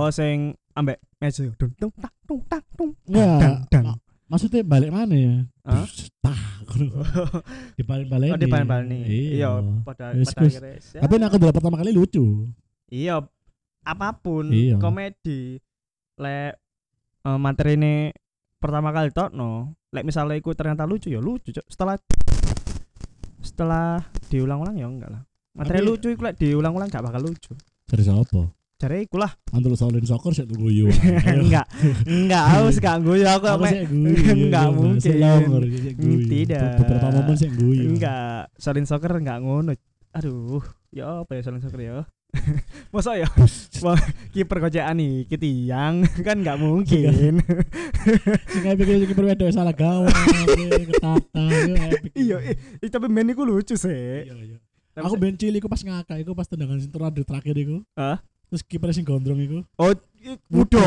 sing ambek meja dung tung tak tung tak tung. Enggak. Dang. Maksudnya balik mana ya? Hah? Dibalik-balik. Oh dibalik-balik nih. Iya, pada akhirnya. Tapi aku dulu pertama kali lucu. Iya, apapun Iya. komedi. Lek materi ini pertama kali tokno, lek misalnya iku ternyata lucu ya lucu, Cuk. Setelah diulang-ulang ya enggak lah. Materi Tapi- lucu iku lek diulang-ulang gak bakal lucu. Dari siapa? Jare iku lah. Antul Shaolin Soccer sik tunggu yo. Enggak, aku sih gak guyu aku Aku mek. sik guyu. Enggak mungkin. Tidak. Beberapa momen sik guyu. Enggak, Shaolin Soccer enggak ngono. Aduh, ya apa ya Shaolin Soccer ya? Masa ya? Wah, kiper kocekan iki tiang kan enggak mungkin. Sing epic iki perwedo salah gawang, ketata yo epic. Iya, tapi main iku lucu sih. Iya. Aku ben cilik iku pas ngakak iku pas tendangan sing terakhir iku. Hah? Terus kiper sing gondrong iku. Oh, mudo.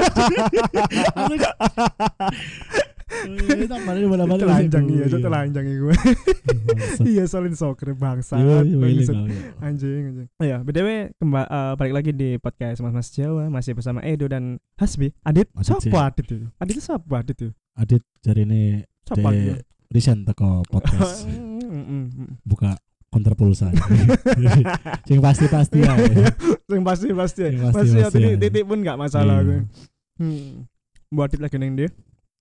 Tak balik bola-balik. Telanjang iya, itu telanjang iku. Iya, Shaolin Soccer bangsa. Anjing. Iya, BTW balik lagi di podcast Mas Jawa masih bersama Edo dan Hasbi. Adit, siapa Adit itu? Adit itu siapa Adit itu? Adit jarine Siapa dia? recent teko podcast. Buka konter pulsa. Sing pasti ya. Sing pasti. Sing Pasti ya pasti. titik pun enggak masalah Iya. aku. Buat Adit lagi neng dia.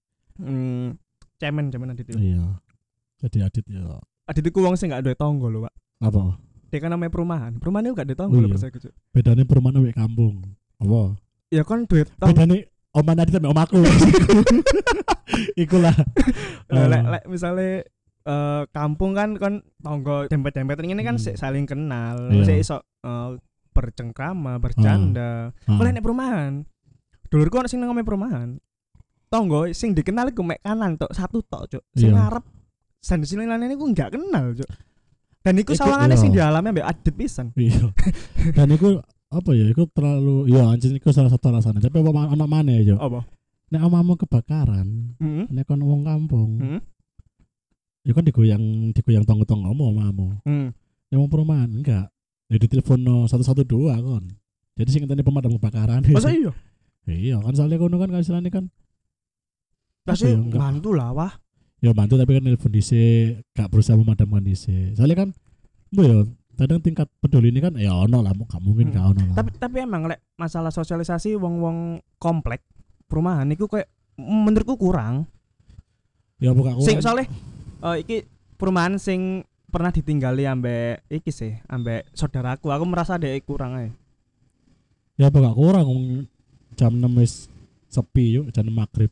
Cemen Adit itu. Iya. Jadi Adit ya. Adit itu wong sing enggak duwe tangga lho, Pak. Apa? Dia kan namanya perumahan. Perumahan itu enggak duwe tangga Oh, lho iya. percaya aku, Cuk. Bedane perumahan wek kampung. Apa? Ya kan duwe tangga. Bedane oman Adit sama omaku. Ikulah. Lek misale kampung kan tangga dempet-dempetan ini kan saling kenal. Iya. Sik iso bercengkrama, bercanda. Kalau nek perumahan, dulurku ana sing nang omah perumahan. Tangga sing dikenal iku mek kanan tok, satu tok, Cuk. Sing Iya. ngarep sandisilan iku enggak kenal, Cuk. Dan iku Iku, sawangane iya. sing dialami ambek Adit pisan. Iya. Dan iku apa ya? Iku terlalu ya anjing iku salah satu alasannya. Tapi apa anak mana ya, Jo? Apa? Nek omamu kebakaran, Heeh. nek kon wong kampung, Heeh. ya kan digoyang tonggo-tonggo omamu. Nek wong perumahan enggak. Ya ditelepon 112 kon. Jadi sing ngenteni pemadam kebakaran. Masa iya? Iya, kan soalnya kono kan istilahnya kan Kasih ya, enggak. bantu lah wah. Ya bantu tapi kan telepon dhisik, gak berusaha memadamkan dhisik. Soalnya kan ya kadang tingkat peduli ini kan ya ono lah, gak mungkin gak ono lah. Tapi emang lek masalah sosialisasi wong-wong komplek perumahan iku kayak menurutku kurang. Ya bukan Sing soalnya iki perumahan sing pernah ditinggali ambek iki sih, ambek saudaraku. Aku merasa dek kurang ae. Ya bukan kurang jam 6 wis sepi yuk, jam 6 maghrib.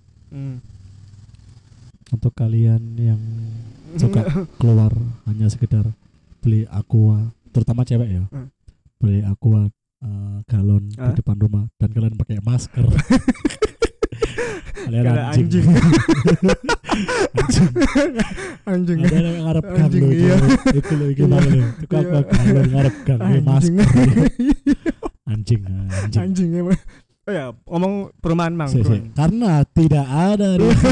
Untuk kalian yang suka keluar hanya sekedar beli aqua, terutama cewek ya. Beli aqua galon di depan rumah dan kalian pakai masker. Kalian anjing. Anjing. Ada yang ngarep gang Anjing, lho, iya. itu lho gimana lho. Tukang galon ngarep gang masker. Anjing emang. Oh ya, ngomong perumahan mang. Karena tidak ada.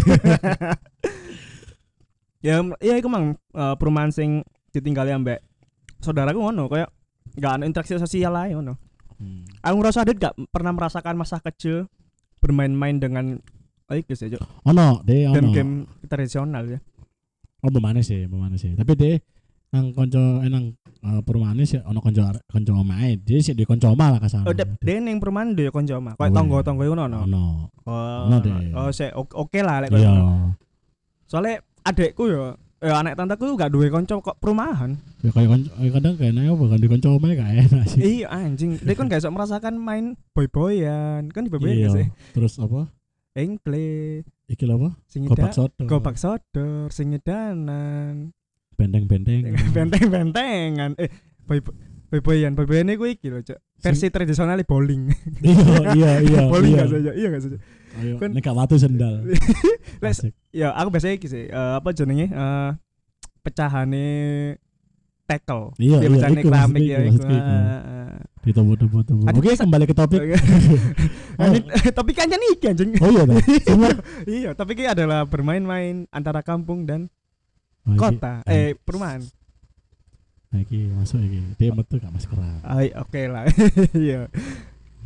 Ya iku mang perumahan sing ditinggali ambek saudaraku ngono, kayak gak ada interaksi sosial ae ngono. Aku ngerasa Adit gak pernah merasakan masa kecil bermain-main dengan iki sih, Ono, deh ono. Game-game tradisional ya. Oh, bemane sih. Tapi deh nang konco nang perumahan sih ono konco omae. Dia sih di konco omah lah kasar. Oh, deh ning perumahan dhewe konco omah. Kayak tangga-tangga ngono ono. Ono. Oh, deh. oh, oke lah lek Iya. ngono. Soale adekku ya anak tanteku gak duwe konco kok perumahan. Ya kayak kadang kayaknya bukan di konco omae gak enak sih. Iya anjing. Dia kan gak iso merasakan main boy-boyan. Kan Iya. diboboyan sih. Terus apa? Engkle. Iki lho apa? Sing Gobak sodor, sing nyedanan. Benteng-benteng. Benteng-bentengan. Boy-boyan iku iki lho, Cuk. Versi tradisional bowling. Iya. Bowling gak saja. Iya gak saja. Ayo, Kan- nek watu sendal. Asik. Ya, aku biasanya iki sih. Apa jenenge? Pecahane tackle. Iya, pecahane iku keramik maksudnya ya iku, iku. maksudnya iku. Ditobo. Adik Oke, bisa- kembali ke topik. Tapi kan iki anjing. Oh iya toh. Semua Iya, tapi ini adalah bermain-main antara kampung dan Oh, iki- kota. Perumahan. Nah, iki masuk iki. Dia metu gak maskeran. Oke lah. Iya.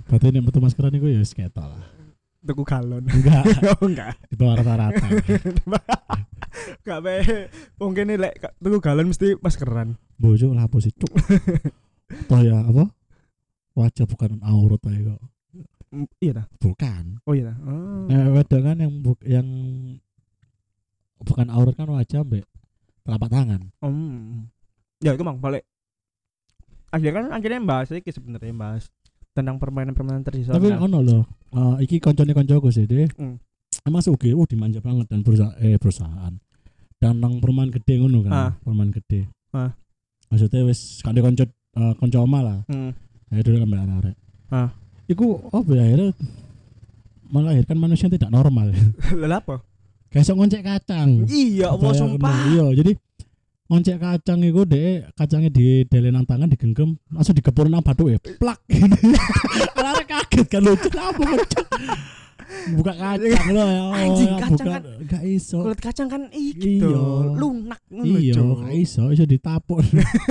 Berarti nek metu maskeran iku ya wis ketok lah. Tuku galon. Enggak. Oh enggak. Di bawah rata-rata. Enggak be. Wong kene lek tuku galon mesti maskeran. Bojo lah apa sih cuk. Toh ya apa? Wajah bukan aurat ae kok. Iya dah. Bukan. Oh iya dah. Oh. Wedok kan yang bukan aurat kan wajah mbek telapak tangan. Ya itu mang balik. Akhirnya bahas iki sebenarnya bahas tentang permainan-permainan tradisional. Tapi ono loh. Iki koncone-koncoku sih deh. Emang sugih dimanja banget dan perusahaan. Dan nang perumahan gede ngono kan. Perumahan gede. Maksudnya wis kandhe konco omah lah. Ya dulu kan arek. Iku apa ya akhirnya melahirkan manusia yang tidak normal. Lah apa? Kayak sok ngoncek kacang. Iya, Allah sumpah. Iya, jadi ngoncek kacang iku dek kacangnya di delenan tangan digenggam langsung dikepur nang bathuke plak. Arek kaget kan lucu apa ngocek. Buka kacang lho ya. Anjing kacang kan gak iso. Kulit kacang kan iki to, lunak ngono. Iya, gak iso ditapuk.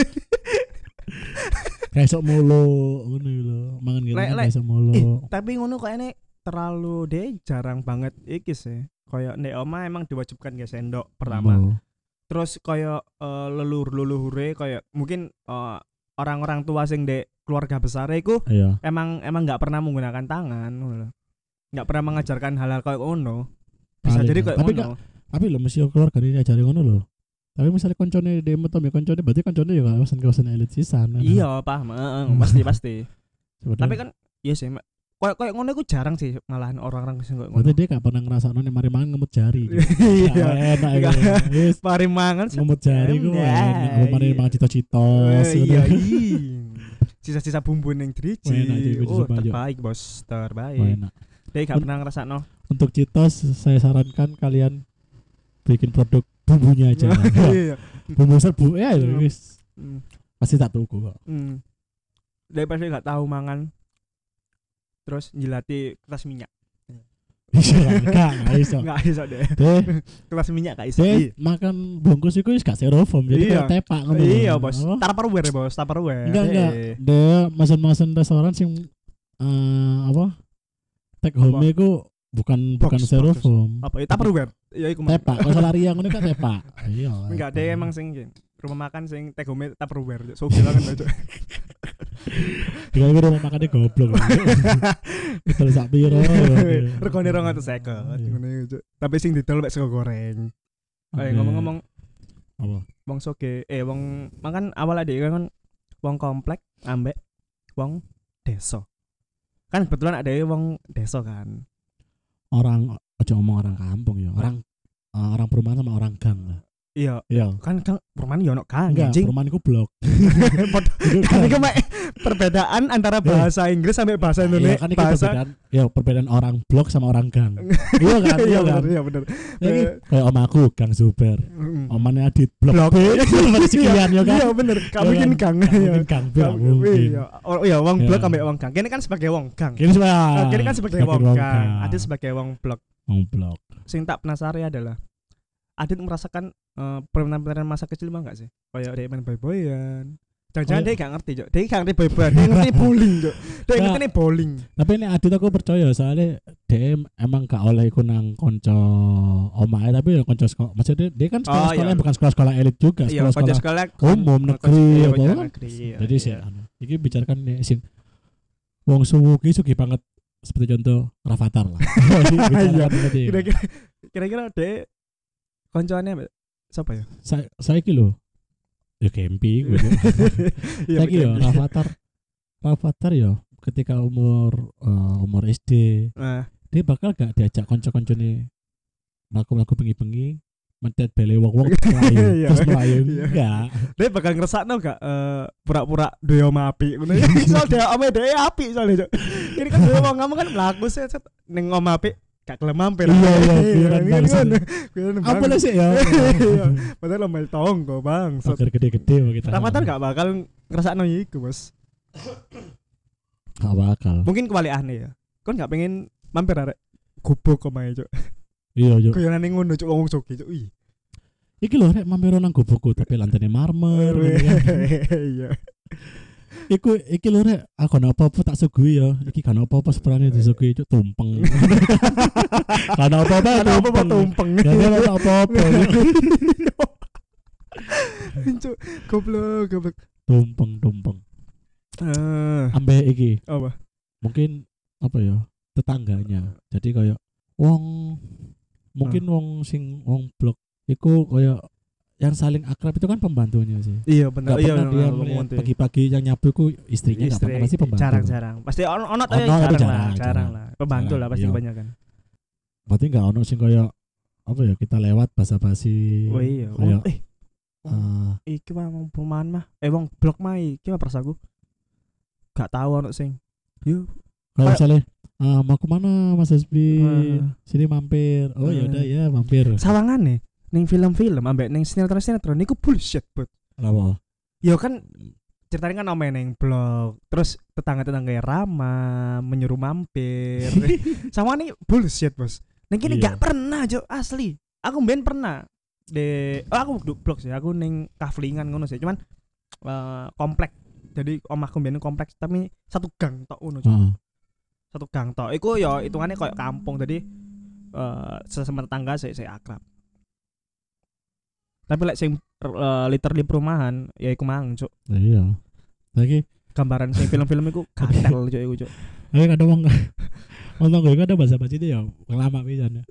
Kayak sok mulu ngono lho. Mangan gitu kayak sok mulu. Tapi ngono kayaknya terlalu deh jarang banget iki sih. Kayak nek omah emang diwajibkan guys sendok pertama. Terus kayak leluhure kayak mungkin orang-orang tua sing dek keluarga besar iku emang enggak pernah menggunakan tangan ngono. Enggak pernah mengajarkan hal-hal kayak ngono. Bisa jadi kayak ngono. Tapi lho mesti keluarga ini ajari ngono lho. Tapi misalnya koncone demo to koncone berarti koncone ya kawasan elit sisan. Iya, paham. Pasti. Tapi kan iya sih kayak ngono iku jarang sih malahan orang-orang sing koyo ngono. Berarti dia gak pernah ngrasakno nek mari mangan ngemut jari. Iya. Enak wis mari mangan ngemut jari ku enak. Mari mangan cita-citos. Iya. Sisa-sisa bumbu ning driji. Oh, terbaik, Bos. Terbaik. Dia gak pernah ngrasakno. Untuk citos saya sarankan kalian bikin produk bumbunya aja. Iya. Bumbu serbu ya wis. Pasti tak tuku kok. Dia pasti gak tahu mangan. Terus njilati kertas minyak. Gak iso deh. Kertas minyak gak iso. Makan bungkus iku wis gak styrofoam jadi kayak tepak ngono. Iya, Bos. Tupperware, Bos. Enggak. Dia masen-masen restoran sing take home iku bukan styrofoam. Apa itu Tupperware? Ya iku tepak. Kalau lari yang ngono kan tepak. Iya. Enggak deh emang sing rumah makan sing take home Tupperware. Sugih banget aja. Dengan rumah makannya goblok. Betul sak piro. Regane 250 ngene iki. Tapi sing didol mek sego goreng. Ngomong-ngomong apa? Wong soge wong makan awal adek kan wong komplek ambek wong desa. Kan kebetulan ada wong desa kan. Orang aja ngomong orang kampung ya. Orang perumahan sama orang gang lah. Iya. Kan perumahan yo ono gang. Enggak, perumahan iku blok. Kan iku perbedaan antara bahasa Inggris sampai bahasa Indonesia. Kan perbedaan orang blok sama orang gang. Iya kan? Iya bener. Kayak om aku Gang Zuber. Omane Adit blok. Sekian ya kan. Iya bener. Kamu bikin gang. Mungkin gang mungkin. Iya, wong blok ambek wong gang. Kene kan sebagai wong gang. Kene kan sebagai wong gang. Adit sebagai wong blok. Wong blok. Sing tak penasaran adalah Adit merasakan permainan masa kecil mah enggak sih? Kayak dia main boy-boyan. Jangan-jangan dia gak ngerti, Cok. Dia gak ngerti boy-boyan, dia ngerti bowling, Cok. Dia ngerti bowling. Tapi ini Adit aku percaya soalnya dia emang gak oleh iku nang konco omahe tapi ya konco sekolah. Maksudnya dia kan sekolah bukan sekolah elit juga, sekolah umum negeri apa. Jadi sih iki bicarakan nih sing wong sugi banget seperti contoh Rafathar lah. Kira-kira dia koncoannya siapa ya? Saya lho. Ya camping gitu. Saiki yo Rafathar yo ketika umur SD. Dia bakal gak diajak kanca-kancane mlaku-mlaku bengi-bengi mentet bele wong-wong terus melayu. Enggak. Dia bakal ngrasakno gak pura-pura duwe omah apik ngono. Soal dia omah dhewe apik soalnya. Ini kan duwe wong ngomong kan mlaku set ning omah apik gak kelem mampir. Iya. Apa lah sih ya? Padahal lomel tonggo, Bang. Oke gede-gede kita. Rafathar gak bakal ngrasakno iku, Bos. Gak bakal. Mungkin kebalikannya ya. Kon gak pengen mampir arek gubuk omahe, Cuk. Iya, Cuk. Kayane ngono, Cuk, wong soge, Cuk. Iki lho rek mampir nang gubukku tapi lantene marmer. Iya. iki lho rek, aku ana apa-apa tak suguhi ya. Iki kan apa-apa seprane disuguhi cuk tumpeng. Kan apa-apa tumpeng. Kan apa-apa. Cuk, goblok. Tumpeng. Ambek iki. Apa? Mungkin apa ya? Tetangganya. Jadi kayak mungkin wong blok iku kayak yang saling akrab itu kan pembantunya sih. Iya benar. Iya dia melihat pagi-pagi yang nyapu itu istrinya enggak pernah, pasti pembantu. Jarang. Pasti ono tapi jarang lah. Pembantu lah pasti kebanyakan. Berarti enggak ono sing kayak apa ya kita lewat basa-basi. Oh iya. Kayak, iki wong perumahan mah. Wong blok mah iki mah persaku. Gak tahu ono sing. Yo. Kalau misalnya mau kemana Mas Hasbi? Sini mampir. Oh ya udah ya mampir. Sawangane ning film-film ambek ning sinetron niku bullshit, Bud. Kenapa? Ya kan ceritanya kan omain ning blog, terus tetangga-tetangga ramah, menyuruh mampir. Sama nih bullshit, Bos. Ning kene gak pernah, Jo, asli. Aku mben pernah aku blog sih, aku ning kaflingan ngono sih, cuman komplek. Jadi omahku mben kompleks tapi satu gang tok ngono, Jo. Satu gang tok. Iku ya hitungane koyo kampung, jadi sesama tetangga saya akrab. Tapi lek sing literally perumahan ya iku mang, Cuk. Iya. Lagi gambaran sing film-film iku gatel, Cuk, iku, Cuk. Kadang wong gue ada bahasa-bahasa itu ya lama pisan ya.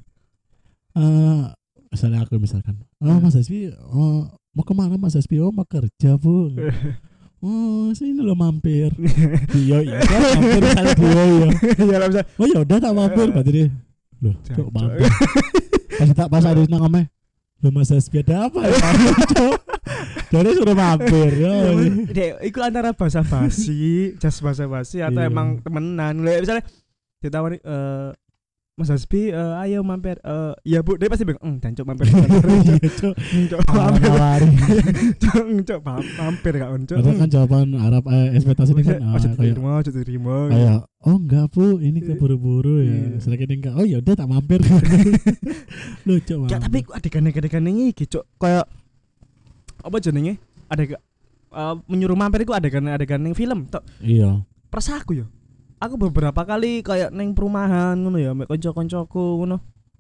Misalkan Mas Hasbi mau kemana Mas Hasbi? Mau kerja, Bu. Sini lo mampir. Iya mampir misalnya dia ya. Ya lah bisa. Oh ya udah tak mampir berarti dia. Loh, Cuk, mampir. Pas ada nang omah. Loh Mas Hasbi ada apa ya? Jadi suruh mampir ya. Iku antara basa-basi, jas basa-basi atau emang temenan. Misalnya ditawari Mas Hasbi ayo mampir. Ya Bu, dia pasti bilang jancuk mampir. Iya, Cuk. Mampir. Cuk, mampir gak on, Cuk. Padahal kan jawaban Arab ekspektasi ini kan terima. Kayak enggak Bu, ini keburu-buru ya. Selagi enggak. Oh ya udah tak mampir. Lucu banget. Ya tapi adegan-adegan iki, Cuk, kayak apa jenenge? Menyuruh mampir iku adegan ning film tok. Iya. Persaku yo. Aku beberapa kali kayak neng perumahan ngono ya, mek kanca-kancaku ngono.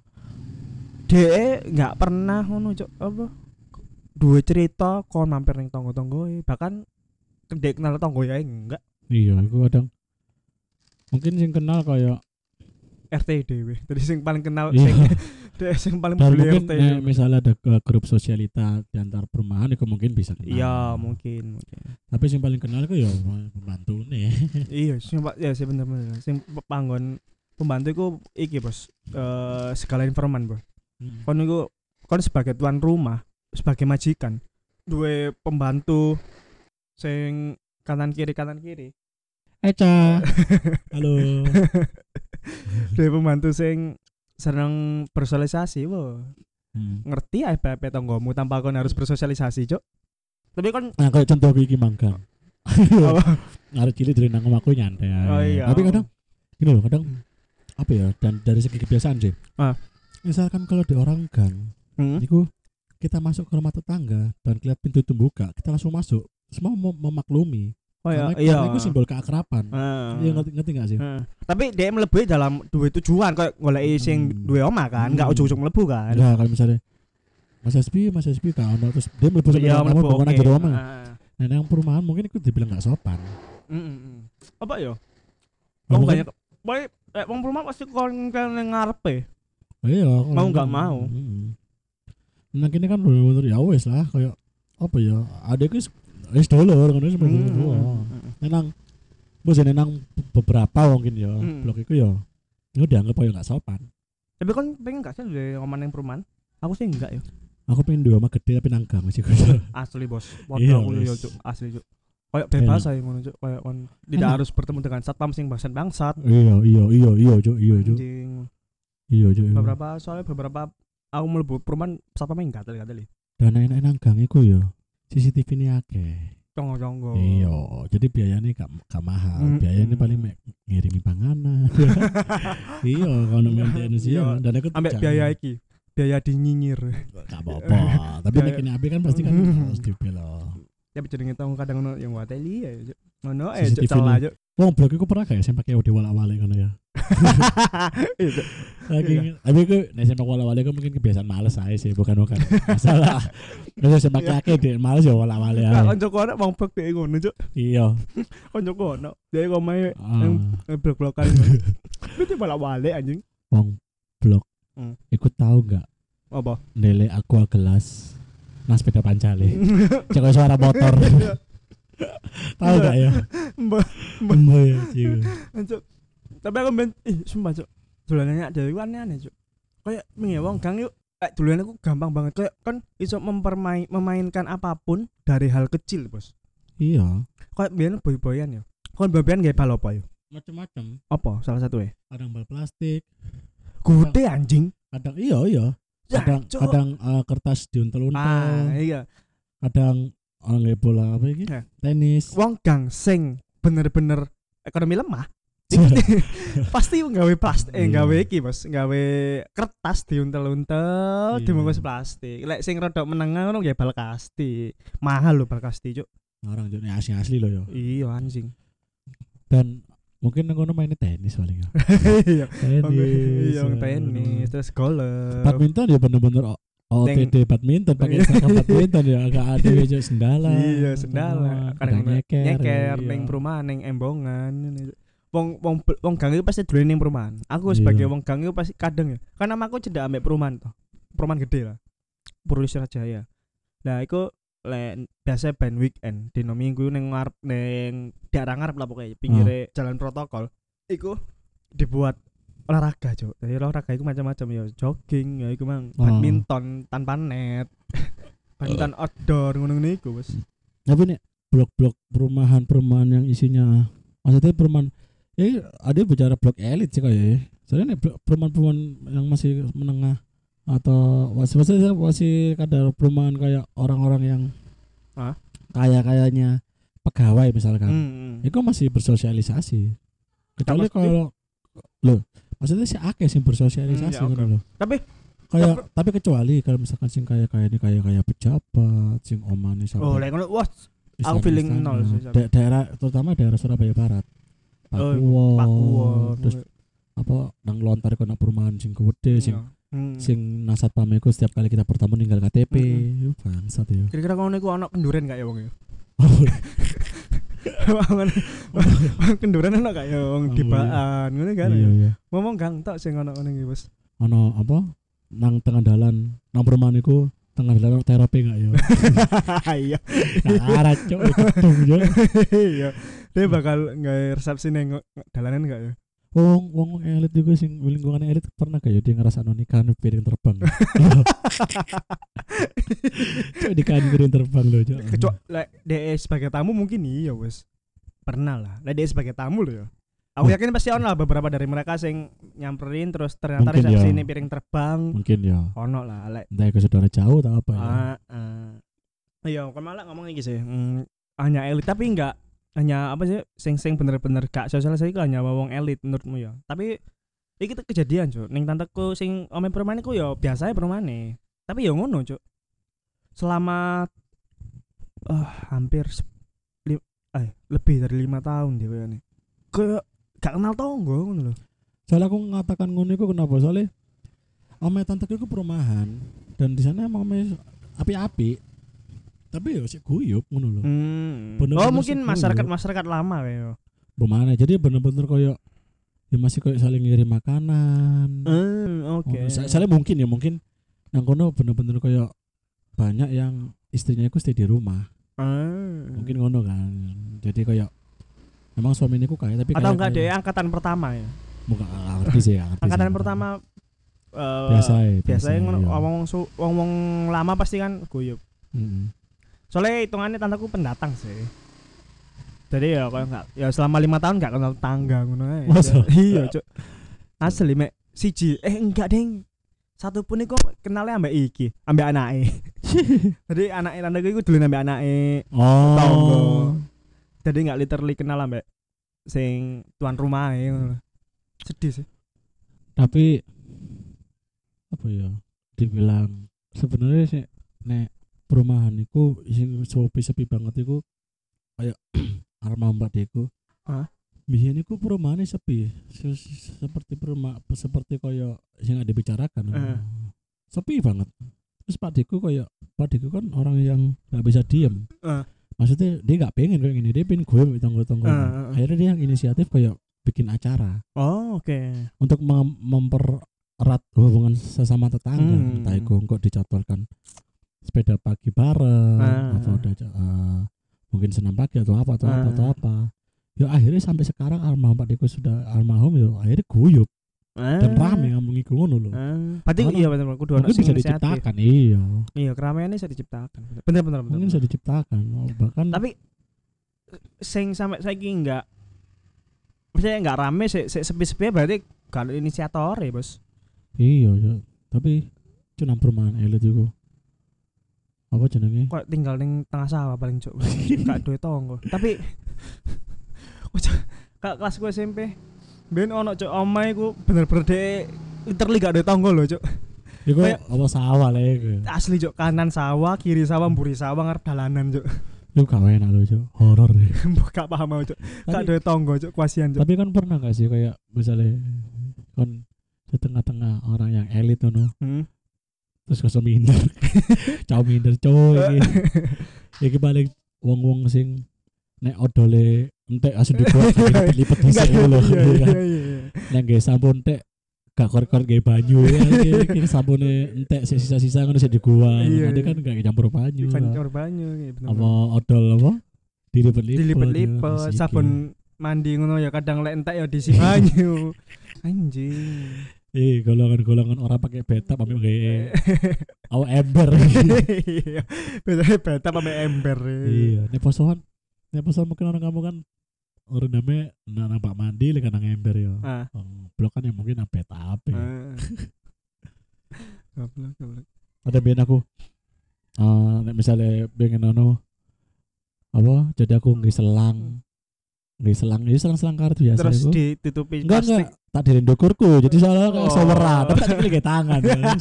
Dek enggak pernah ngono, Cuk, apa? Dua cerita kon mampir ning tangga-tanggoe, bahkan dek kenal tangga ya enggak. Iya, iku kadang mungkin sing kenal kayak RT dhewe. Jadi sing paling kenal sing paling bully RT. Misalnya ada grup sosialita di antar perumahan itu mungkin bisa kenal. Iya, mungkin. Tapi sing paling kenal itu ya pembantune. Iya, sing sih bener-bener. Sing panggon pembantu iku iki, Bos. Segala informan, Bos. Kon sebagai tuan rumah, sebagai majikan, duwe pembantu sing kanan kiri. Eca. Halo. Duwe pembantu sing seneng bersosialisasi, wo. Ngerti apa tanggomu tanpa kon harus bersosialisasi, Cuk. Tapi kon kayak contoh iki manggang. Arek cilik dari nang omahku nyantai. Oh, iya. Tapi kadang gini loh, kadang apa ya, dan dari segi kebiasaan sih. Misalkan kalau di orang gang, itu kita masuk ke rumah tetangga dan kelihatan pintu itu buka, kita langsung masuk. Semua memaklumi. Oh iya, karena itu simbol keakraban. Iya, ngerti enggak sih? Tapi dia mlebu dalam dua tujuan kayak goleki sing duwe omah kan, enggak ujug-ujug mlebu kan. Enggak, kalau misalnya Mas Hasbi kan terus dia mlebu sama kamu bangun aja omah. Nah, yang perumahan mungkin itu dibilang enggak sopan. Apa ya? Wong banyak wong perumahan pasti kon ngarepe. Iya, mau enggak mau. Nah, kini kan bener-bener ya wes lah kayak apa ya? Adekku wis dolor ngono seperti itu. Nenang beberapa mungkin ya blok iku ya dianggap koyo enggak sopan. Tapi kan pengen enggak sih di omah ning perumahan? Aku sih enggak ya. Aku pengen di omah gede tapi nang gang sih. Asli, Bos. Foto aku yo, Cuk. Asli, Cuk. Kayak bebas ae ngono, Cuk. Kayak kon tidak harus bertemu dengan satpam sing bangsat. Iya, Cuk. Iya, Cuk. Beberapa aku mlebu perumahan satpam enggak gatel-gatel. Dan enak nang gang iku ya. CCTV ini akeh. Conggo. Iya, jadi biayanya gak mahal. Biayanya paling ngirimi panganan. Iya, kalau maintenance ya. Dan aku ambek biaya iki, biaya dinyinyir. Gak apa-apa. Tapi nek ini kan pasti kan harus dibelo. Tapi jenenge tong kadang ono yang wateli ya, Cuk. Ngono Cuk celah, Cuk. Wong blog iku pernah gak ya sing pakai audio wala-wale ngono ya. Itu. Lagi tapi ku nek sing wala-wale ku mungkin kebiasaan males ae sih, bukan masalah. Wis sing pakai dhek males ya wala-wale ae. Kancaku ana wong blog dhek ngono, Cuk. Iya. Kancaku ono, dhek omahe blog-blogan. Itu wala-wale anjing. Wong blog. Iku tahu enggak? Apa? Nele aqua gelas. Nah sepeda pancale. Cek suara motor. Tahu gak ya? Mbah ya, Cuk. Tapi aku sumpah, Cuk. Dolanane dhewe ku aneh-aneh, Cuk. Kayak mengi wong gang yuk, dolan aku gampang banget. Kayak kan iso memainkan apapun dari hal kecil, Bos. Iya. Kayak biyen boy-boyan ya. Kon boy-boyan gawe bal apa ya? Macam-macam. Apa salah satu ya? Kadang bal plastik. Gede anjing. Kadang iya. Kadang kertas diuntel-untel. Iya. Kadang nggak bola apa iki? Tenis. Wong gang sing bener-bener ekonomi lemah. Pasti nggawe plastik, nggawe iki, Bos. Nggawe kertas diuntel-untel, dibungkus plastik. Lek sing rodok menengah ngono nggih bal kasti. Mahal lho bal kasti, Cuk. Orang Cuk asli lho ya. Iya anjing. Dan mungkin ngono main tenis paling ya. Iya. Tenis, terus golf. Badminton ya bener-bener OTD badminton pakai seragam badminton ya agak ada aja sendala. Iya, sendala. Kadang nyeker ning iya. perumahan ning embongan. Wong gang itu pasti dolen ning perumahan. Aku sebagai wong gang itu pasti kadang ya. Karena aku cedak ambek perumahan toh. Perumahan gede lah. Purworejo Jaya. Nah, iku biasa ben weekend dino minggu ning ngarep ning daerah ngarep lah pokoknya pinggire jalan protokol. Iku dibuat olahraga, Cuk. Jadi olahraga iku macam-macam ya, jogging ya iku mang, badminton tanpa net. Badminton outdoor ngono-ngono iku, Bos. Tapi nek blok-blok perumahan yang isinya maksudnya perumahan ada bicara blok elit sih kayak ya. Soalnya nek perumahan yang masih menengah atau masih kadar perumahan kayak orang-orang yang kayaknya pegawai misalkan. Itu masih bersosialisasi. Kecuali kalau maksudnya sih akeh sing bersosialisasi kan lho. Tapi kecuali kalau misalkan sing kayak pejabat, sing omane sampai. Lek ngono wah aku feeling nol sih. Daerah terutama daerah Surabaya Barat. Pakuwon. Terus apa nang lontar kono perumahan sing gede sing nasat pameku setiap kali kita bertemu ninggal KTP. Bangsat ya. Kira-kira ngono iku ana kenduren gak ya wong ya? Kenduran ana gak ya wong dibaan ngono kan. Iya. Ngomong gang tok sing ana ngene iki, Bos. Ana apa? Nang tengah dalan, nang perumahan iku tengah dalan terapi gak ya? Iya. Arat cuk gedung yo. Iya. Dia bakal gawe resepsi ning dalanan gak ya? Wong elit juga sing lingkungan elit pernah gak ya dia ngrasakno nikahan piring terbang. Cuk nikahan piring terbang lho, Cuk. Kecuali lek DE sebagai tamu mungkin iya, wes. Pernah lah. Lek DE sebagai tamu lho ya. Aku yakin pasti ono lah beberapa dari mereka sing nyamperin terus ternyata resepsi ini piring terbang. Mungkin ya. Ono lah lek. Entah ke saudara jauh atau apa ya. Iya, kan malah ngomong iki sih. Hanya elit tapi enggak hanya apa sih sing bener-bener gak sosialisasi itu hanya wong elit menurutmu ya. Tapi iki kejadian, Cuk. Ning tanteku sing ome perumahan iku ya biasa ae perumahane. Tapi ya ngono, Cuk. Selama hampir lebih dari 5 tahun dia kayaknya. Kayak gak kenal tonggo ngono lho. Soalnya aku mengatakan ngono iku kenapa? Soalnya ome tanteku iku perumahan dan di sana emang api-api. Tapi ya sih guyup ngono lho. Mungkin masyarakat lama kayak. Bagaimana? Jadi bener-bener koyo ya masih koyo saling ngirim makanan. Oke. Soalnya mungkin nang kono bener-bener koyo banyak yang istrinya iku stay di rumah. Mungkin ngono kan. Jadi koyo memang suami niku kaya tapi atau enggak deh angkatan pertama ya. Bukan ngerti sih ya. Angkatan pertama biasa wong lama pasti kan guyup. Soalnya hitungannya tanteku pendatang sih. Jadi ya kalau enggak ya selama 5 tahun enggak kenal tangga ngono ae. Iya, Cuk. Asli mek siji enggak ding. Satu pun iku kenalnya ambek iki, ambek anake. Jadi anake tanteku iku dolen ambek anake. Tangga. Jadi enggak literally kenal ambek sing tuan rumah ngono. Sedih sih. Tapi apa ya? Dibilang sebenarnya sih nek perumahan iku sing sepi banget iku kayak Arma Mbak Deku. Biyen iku perumahane sepi. Seperti kaya sing ada dibicarakan. Sepi banget. Terus Pak Deku kan orang yang enggak bisa diem. Maksudnya dia enggak pengen kayak gini, dia pengen gue tonggo-tonggo. Akhirnya dia yang inisiatif kayak bikin acara. Oh, oke. Untuk mempererat hubungan sesama tetangga. Entah itu kok dicatwalkan sepeda pagi bareng atau ada mungkin senam pagi atau apa. Ya akhirnya sampai sekarang almarhum Pak Deko sudah almarhum ya akhirnya guyup dan rame ngomong iku ngono lho. Berarti iya bener kudu ono bisa diciptakan. Iya, keramaiannya bisa diciptakan. Bener. Mungkin bisa diciptakan. Bahkan tapi sing sampai saiki enggak maksudnya enggak rame sepi-sepi berarti gak ada inisiator ya, Bos. Iya, tapi cuma perumahan elit iku. Apa jenenge? Kok tinggal ning tengah sawah paling cuk. Gak duwe tonggo. Tapi kak kelas gue SMP ben ono cuk omahe ku bener-bener dhek literally gak ada tangga lho cuk. Iku apa sawah lho iku. Asli cuk, kanan sawah, kiri sawah, mburi sawah ngarep dalanan cuk. Iku gak enak lho cuk, horor. Gak paham aku cuk. Gak ada tangga cuk, kasihan cuk. Tapi kan pernah gak sih kayak misalnya kan di tengah-tengah orang yang elit ngono. Terus kok minder. Cau minder coy iki balik wong-wong sing nek odole entek asu dibuat lipet dhisik lho. Iya. Nek nggih sampun entek gak kor-kor nggih banyu iki sabune entek sisa-sisa ngono sik diguang. Nanti kan gak campur banyu. Campur banyu bener. Apa odol apa? Dilipet-lipet. Sabun mandi ngono ya kadang lek entek ya diisi banyu. Anjing. Golongan orang pakai betap ambil kayak ember. Iya. Betap ambil ember. Iya, nek posoan mungkin orang kamu kan orang namanya nampak mandi lek nang ember ya. Blok kan yang mungkin nang betap. Goblok. Ada ben aku nek misalnya pengen apa jadi aku nggih selang kartu biasa terus itu. Ditutupi plastik. Enggak, tak di ndokurku. Jadi soalnya kayak soweran, tapi tak dipilih tangan.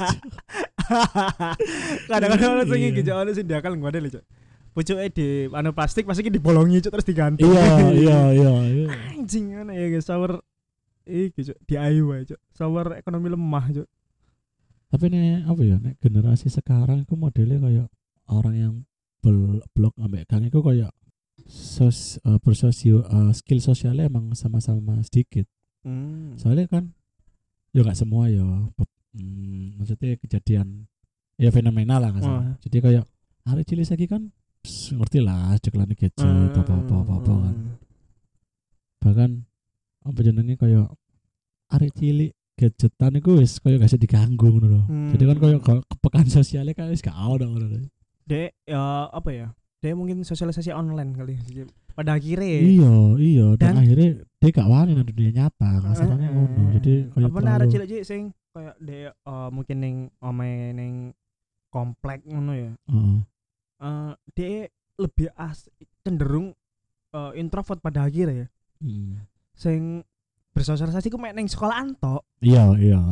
Kadang-kadang ono sing iki ono sing diakal ngene lho, Cuk. Pucuke di plastik pasti dibolongi Cuk terus digantung. Iya. Anjing ngene ya guys, shower iki Cuk, DIY Cuk. Shower ekonomi lemah Cuk. Tapi nek apa ya, nek generasi sekarang iku modelnya kayak orang yang blok ambek gang iku kayak skill sosialnya emang sama-sama sedikit. Soalnya kan ya nggak semua ya maksudnya kejadian ya fenomenal lah nggak jadi kayak hari cilik lagi kan ngerti lah ceklan gadget apa kan bahkan apa jenenge kayak hari cilik gadgetan itu wis kayak gak bisa diganggu loh. Jadi kan kayak kepekaan sosialnya kan wis gak ada ngono. Dek ya apa ya? Dia mungkin sosialisasi online kali pada akhirnya iya dan akhirnya dia gak wani nang dunia nyata kasarane ngono jadi kayak apa nara cilik sing kayak dia mungkin ning omahe ning komplek ngono ya dia lebih cenderung introvert pada akhirnya ya sing bersosialisasi ku mek ning sekolahan tok iya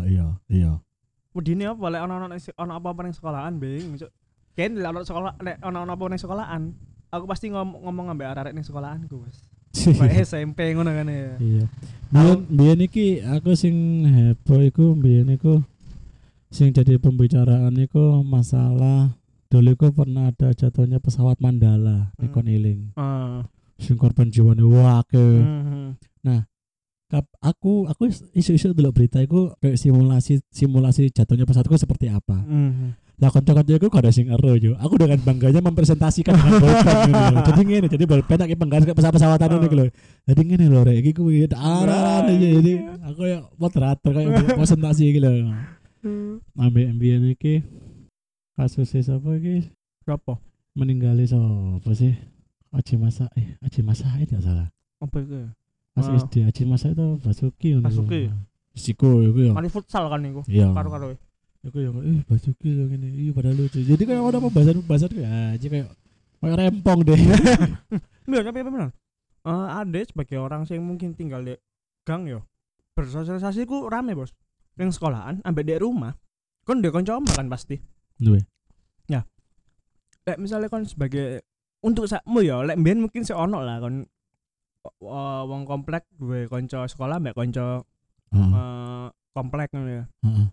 wedine apa lek ono apa-apa ning sekolahan bing Ken lek ono sekolah ono apa ning sekolahan. Aku pasti ngomong ambek arek ning sekolahanku, Mas. Kayak SMP ngono kan ya. Iya. Biyen iki aku sing heboh iku biyen iku sing jadi pembicaraan iku masalah dulu iku pernah ada jatuhnya pesawat Mandala ning kon eling. Sing korban jiwane akeh. Nah, aku isu-isu delok berita iku kayak simulasi jatuhnya pesawatku seperti apa. Lah kanca-kanca aku gak ada sing ero yo. Aku dengan bangganya mempresentasikan dengan bolpen gitu. Jadi ngene, jadi bolpen tak penggaris ke pesawat-pesawatan niku lho. Jadi ngene lho rek, iki kuwi arah jadi aku ya moderator kayak presentasi iki lho. Ambek MBN iki kasusnya sapa iki? Berapa? Meninggali sapa sih? Aji Masa itu salah. Apa itu? Mas SD Aji Masa itu Basuki ngono. Basuki. Siko iku ya. Kan futsal kan niku. Karo-karo. Aku yang Basuki yang ini, padahal lucu. Jadi kayak ada pembahasan kayak aja kayak rempong deh. Bener tapi bener. Ada sebagai orang yang mungkin tinggal di gang yo. Bersosialisasi ku rame bos. Yang sekolahan, ambek di rumah. Kon dia konco kan pasti. Duwe. Ya. lek misalnya kon sebagai untuk sakmu ya lek mbiyen mungkin ono lah kon wong komplek duwe kanca sekolah mbek kanca komplek ngono ya.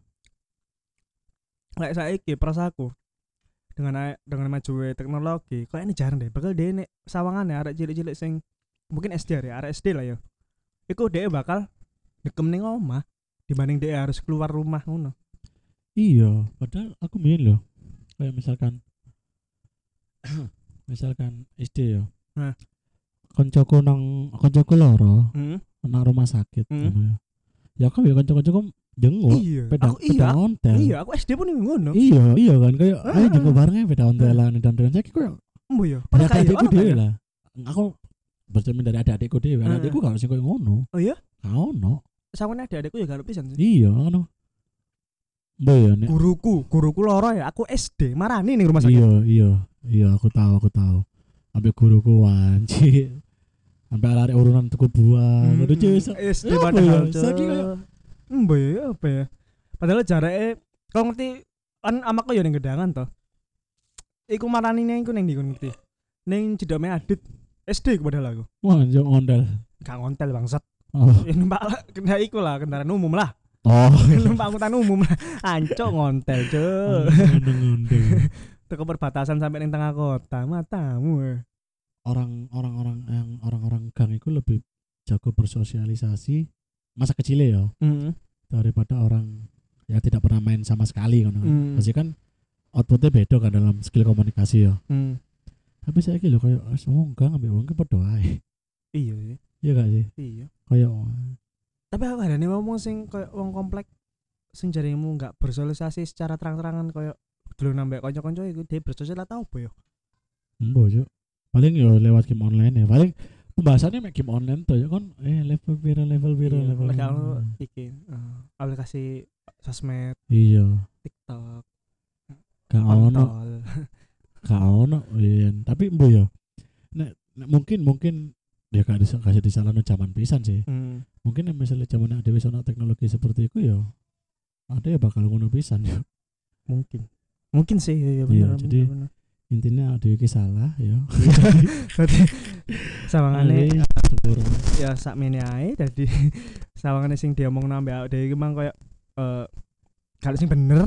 Lek saiki perasaku dengan maju teknologi kok ini jarang deh bakal dia nek sawangane arek cilik-cilik sing mungkin SD ya arek SD lah ya iku dia bakal dekem ning omah dibanding dia harus keluar rumah ngono. Iya padahal aku main loh kayak misalkan SD ya koncoku loro nang rumah sakit ya kok ya konco-koncoku jenguk beda ontel. Iya, aku SD pun ngono. Iya kan kayak ayo jenguk bareng beda ontelan dan saiki koyo ya. Pada adikku dhewe lah. Aku bercermin dari adik-adikku dhewe. Adikku gak sing koyo ngono. Oh iya? Gak ono. Sawene adik-adikku ya gak pisan sih. Iya ngono. Mbok ya nek guruku loro ya, aku SD marani ning rumah sakit. Iya, aku tahu. Ambil guruku wanci. Sampai arek urunan tuku buah. Ngono SD padahal. Saiki koyo ya apa ya? Padahal jarake kau ngerti kan amaku ya ning Gedangan toh. Iku maranine iku ning ndi ngerti? Ning Jedome Adit SD iku padahal aku. Wah, yo ngondel. Gak ngontel bangsat. Oh. Numpak kendaraan iku lah, kendaraan umum lah. Oh. Numpak angkutan umum lah. Ancok ngontel, Cuk. Ngondel. Teko perbatasan sampai ning tengah kota, matamu. Orang-orang gang itu lebih jago bersosialisasi masa kecilnya ya daripada orang yang tidak pernah main sama sekali kan. Pasti kan outputnya beda kan dalam skill komunikasi ya. Tapi saya kira kayak semua enggak ngambil uang berdoa. Iya sih. Iya gak sih? Iya. Kayak tapi aku ada nih ngomong sing kayak uang komplek sing jarimu enggak bersosialisasi secara terang-terangan kayak dulu nambah konco-konco itu dia bersosialisasi tau apa ya? Mbok paling yo lewat game online ya. Paling pembahasannya mek game online tuh ya kan level biru. Kalau iki aplikasi sosmed. Iya. TikTok. Gak ono. Tapi mbok ya. Nek mungkin ya gak kasih disalahno zaman pisan sih. Mungkin misalnya zaman ada wis ono teknologi seperti itu ya. Ada ya bakal ngono pisan ya. Mungkin sih ya benar. Jadi intinya ada iki salah ya. Berarti sawangane ya sakmene ae dadi sawangane sing diomongno ambek awake dhewe iki mang koyo kalau sing bener.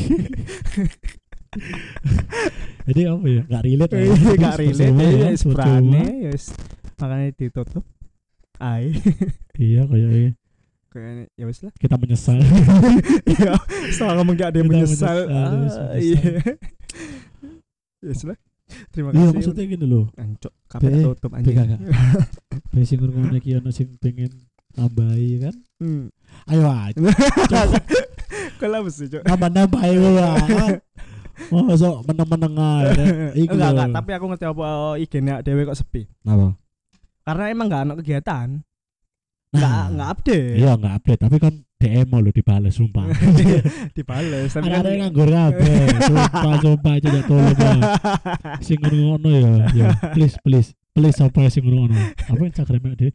Jadi apa ya? Gak relate ya. Gak relate ya sprane ya makanya ditutup. Iya kayak ya wis lah. Kita menyesal. Iya, setelah ngomong gak ada yang menyesal. Iya. Ya sudah. Terima kasih. Iya maksudnya gini loh. Ancok, kabeh tutup anjing. Be sing ngurungone iki ono sing pengen nambahi kan? Ayo aja. Kalau mesti, Cuk. Nambah-nambahi wae. Mosok meneng-meneng ae. Enggak, tapi aku ngerti apa IG-ne dhewe kok sepi. Kenapa? Karena emang enggak ono kegiatan. Enggak update. Iya, enggak update, tapi kan DM lo dibales sumpah. Dibales tapi kan ada nganggur kabeh. Sumpah aja ya tolong ya. Sing ngono ya. Please sapa sing ngono. Apa Instagram dia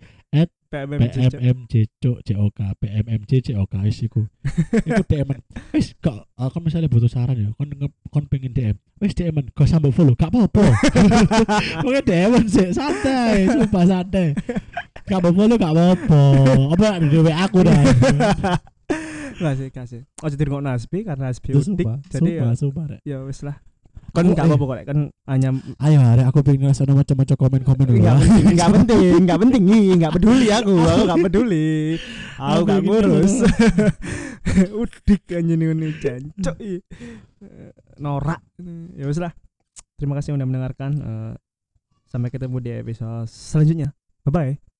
@PMMJCOK PMMJCOK iku. Iku DM. Wis kok aku misalnya butuh saran ya. Kon pengen DM. Wis DM kok sambil follow gak apa-apa. Pokoke DM sih santai, sumpah santai. Gak follow gak apa-apa. Apa di WA aku dah. Kasih. Oh jadi ngomong Nasbi karena Nasbi udik. Jadi sumpah. Ya wis lah. Kan enggak apa-apa kok kan hanya ayo hari aku pengen ngasih macam-macam komen dulu. Enggak penting, enggak peduli aku enggak peduli. Aku enggak ngurus. Udik anjing ini jancok. Norak. Ya wis lah. Terima kasih sudah mendengarkan. Sampai ketemu di episode selanjutnya. Bye bye.